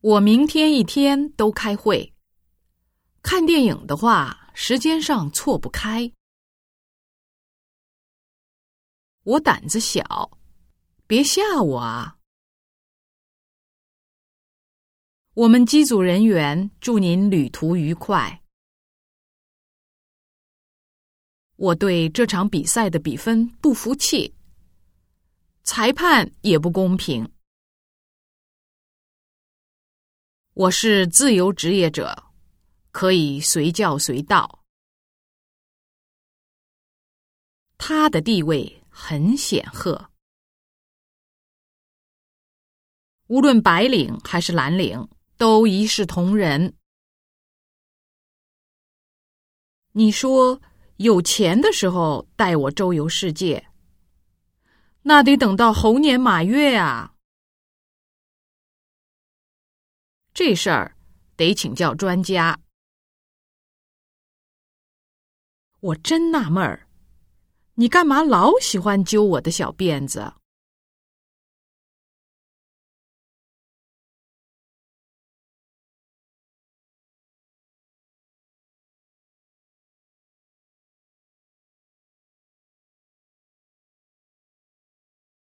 我明天一天都开会。看电影的话，时间上错不开。我胆子小，别吓我啊！我们机组人员祝您旅途愉快。我对这场比赛的比分不服气，裁判也不公平。我是自由职业者，可以随叫随到。他的地位很显赫，无论白领还是蓝领，都一视同仁。你说有钱的时候带我周游世界，那得等到猴年马月啊！这事儿得请教专家。我真纳闷儿，你干嘛老喜欢揪我的小辫子？